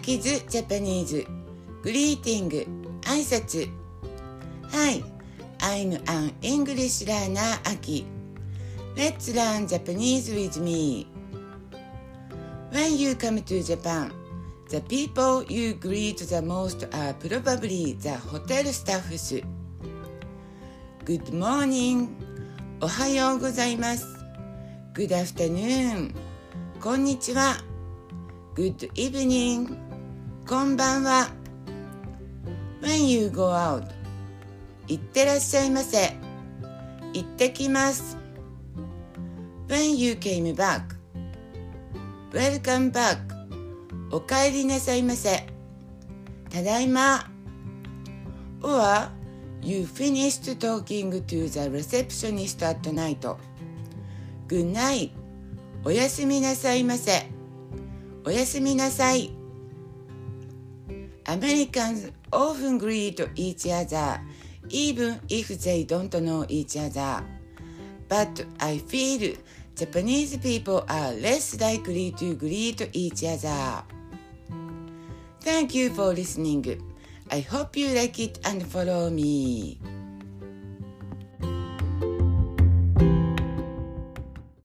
キズジャパニーズグリーティング挨拶 Hi, I'm an English learner Aki. Let's learn Japanese with me. When you come to Japan, the people you greet the most are probably the hotel staffs. Good morning. おはようございます。Good afternoon. こんにちは。Good evening. こんばんは。When you go out, いってらっしゃいませ。行ってきます。When you came back, welcome back. お帰りなさいませ。ただいま。Or, you finished talking to the receptionist at night. Good night. おやすみなさいませ。おやすみなさい。Americans often greet each other, even if they don't know each other. But I feel Japanese people are less likely to greet each other. Thank you for listening. I hope you like it and follow me.